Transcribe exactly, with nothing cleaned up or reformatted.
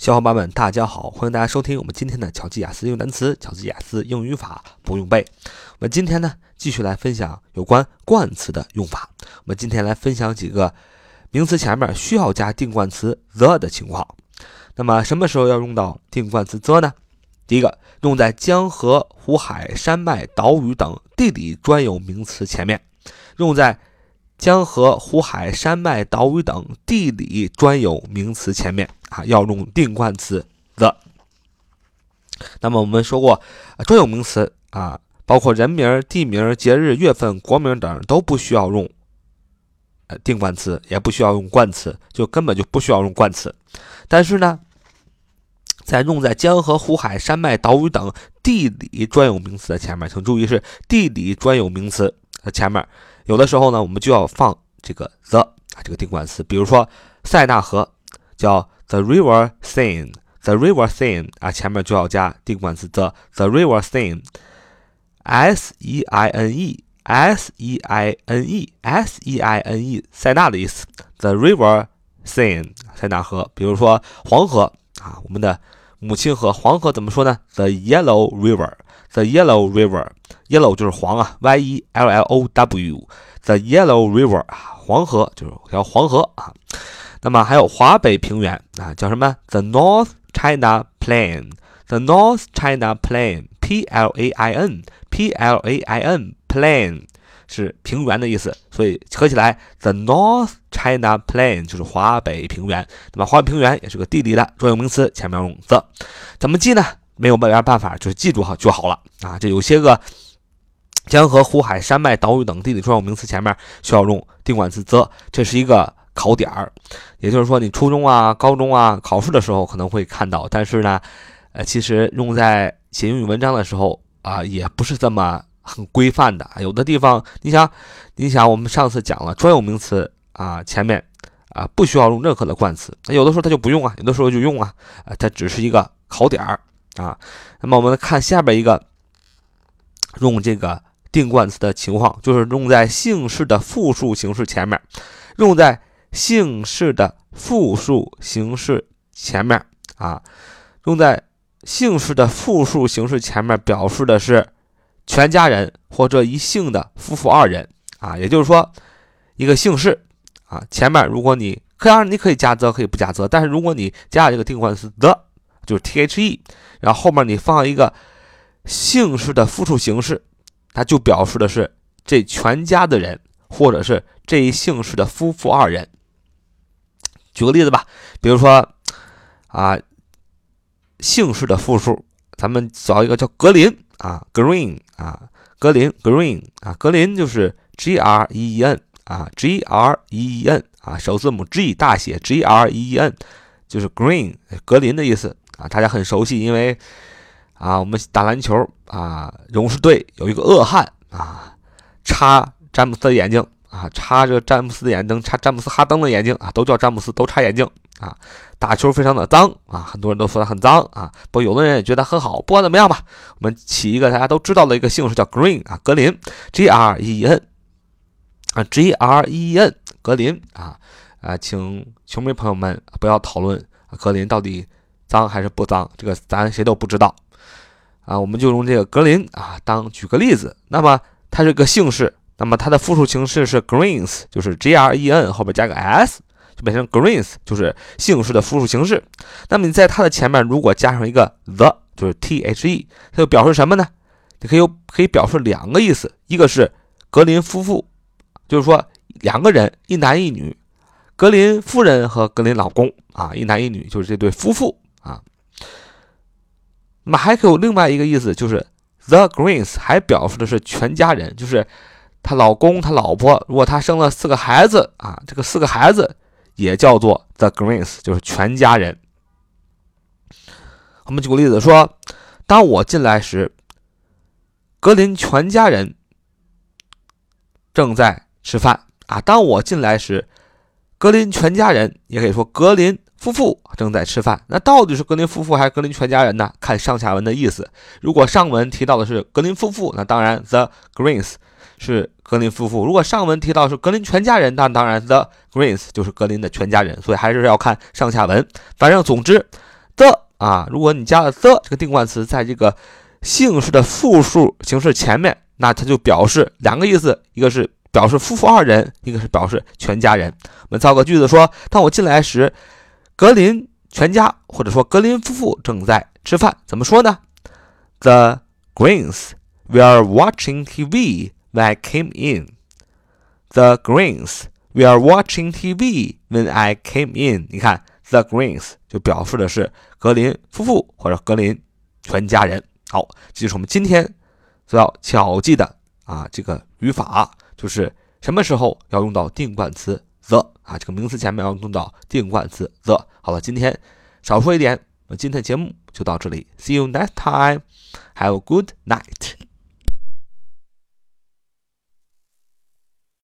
小伙伴们，大家好，欢迎大家收听我们今天的巧记雅思英语单词、巧记雅思英语语法不用背。我们今天呢，继续来分享有关冠词的用法。我们今天来分享几个名词前面需要加定冠词 the 的情况。那么什么时候要用到定冠词 the 呢？第一个，用在江河、湖海、山脉、岛屿等地理专有名词前面，用在江河、湖海、山脉、岛屿等地理专有名词前面啊，要用定冠词 the。那么我们说过，啊、专有名词啊，包括人名、地名、节日、月份、国名等都不需要用呃定冠词，也不需要用冠词，就根本就不需要用冠词。但是呢，在用在江河、湖海、山脉、岛屿等地理专有名词的前面，请注意是地理专有名词的前面。有的时候呢，我们就要放这个 the 啊这个定冠词，比如说塞纳河叫 the river Seine，the river Seine 啊前面就要加定冠词 the the river Seine，S E I N E S E I N E S E I N E 塞纳的意思 ，the river Seine 塞纳河。比如说黄河啊，我们的母亲河黄河怎么说呢 ？the yellow river。The Yellow River，Yellow 就是黄啊 ，Y E L L O W，The Yellow River 啊，黄河就是条黄河啊。那么还有华北平原啊，叫什么 ？The North China Plain，The North China Plain，P L A I N，P L A I N，Plain 是平原的意思，所以合起来 The North China Plain 就是华北平原。那么华北平原也是个地理的专有名词，前面用 the， 怎么记呢？没有办法，就是记住好就好了啊！这有些个江河、湖海、山脉、岛屿等地理专有名词前面需要用定冠词 the， 这是一个考点儿。也就是说，你初中啊、高中啊考试的时候可能会看到，但是呢，呃，其实用在写英语文章的时候啊，也不是这么很规范的。有的地方，你想，你想，我们上次讲了专有名词啊，前面啊不需要用任何的冠词，有的时候它就不用啊，有的时候就用啊，啊，它只是一个考点儿。啊，那么我们看下边一个用这个定冠词的情况，就是用在姓氏的复数形式前面，用在姓氏的复数形式前面啊，用在姓氏的复数形式前面表示的是全家人或者一姓的夫妇二人啊，也就是说一个姓氏啊，前面如果你可以你可以加 the 可以不加 the， 但是如果你加这个定冠词 the。就是 the， 然后后面你放一个姓氏的复数形式，它就表示的是这全家的人，或者是这一姓氏的夫妇二人。举个例子吧，比如说啊，姓氏的复数，咱们找一个叫格林啊 ，Green 啊，格林 Green 啊，格林就是 G R E E N 啊 ，G R E E N 啊，首字母 G 大写 G R E E N， 就是 Green 格林的意思。啊，大家很熟悉，因为啊，我们打篮球啊，勇士队有一个恶汉啊，插詹姆斯的眼睛啊，插着詹姆斯的眼睛，插詹姆斯哈登的眼睛啊，都叫詹姆斯，都插眼睛啊，打球非常的脏啊，很多人都说他很脏啊，不过有的人也觉得很好，不管怎么样吧，我们起一个大家都知道的一个姓氏叫 Green 啊，格林 G R E E N 啊 G R E E N 格林啊啊，请球迷朋友们不要讨论格林到底脏还是不脏，这个咱谁都不知道啊，我们就用这个格林啊当举个例子。那么它是个姓氏，那么它的复数形式是 Greens， 就是 G R E N 后边加个 s， 就变成 Greens， 就是姓氏的复数形式。那么你在它的前面如果加上一个 the， 就是 the， 它就表示什么呢？你可以可以表示两个意思，一个是格林夫妇，就是说两个人，一男一女，格林夫人和格林老公啊，一男一女，就是这对夫妇。啊，那么还可以有另外一个意思，就是 the Greens 还表示的是全家人，就是她老公、她老婆，如果她生了四个孩子啊，这个四个孩子也叫做 the Greens， 就是全家人。我们举个例子说，当我进来时，格林全家人正在吃饭啊。当我进来时，格林全家人，也可以说格林夫妇正在吃饭。那到底是格林夫妇还是格林全家人呢？看上下文的意思。如果上文提到的是格林夫妇，那当然 the Greens 是格林夫妇；如果上文提到是格林全家人，那当然 the Greens 就是格林的全家人。所以还是要看上下文。反正总之啊，如果你加了 the 这个定冠词在这个姓氏的复数形式前面，那它就表示两个意思，一个是表示夫妇二人，一个是表示全家人。我们造个句子说，当我进来时，格林全家或者说格林夫妇正在吃饭，怎么说呢？ The Greens were watching T V when I came in. The Greens were watching T V when I came in. 你看 The Greens 就表示的是格林夫妇或者格林全家人。好，这就是我们今天所要巧记的啊这个语法，就是什么时候要用到定冠词 the 啊，这个名词前面要用到定冠词 the。好了，今天少说一点，那今天的节目就到这里。See you next time. Have a good night.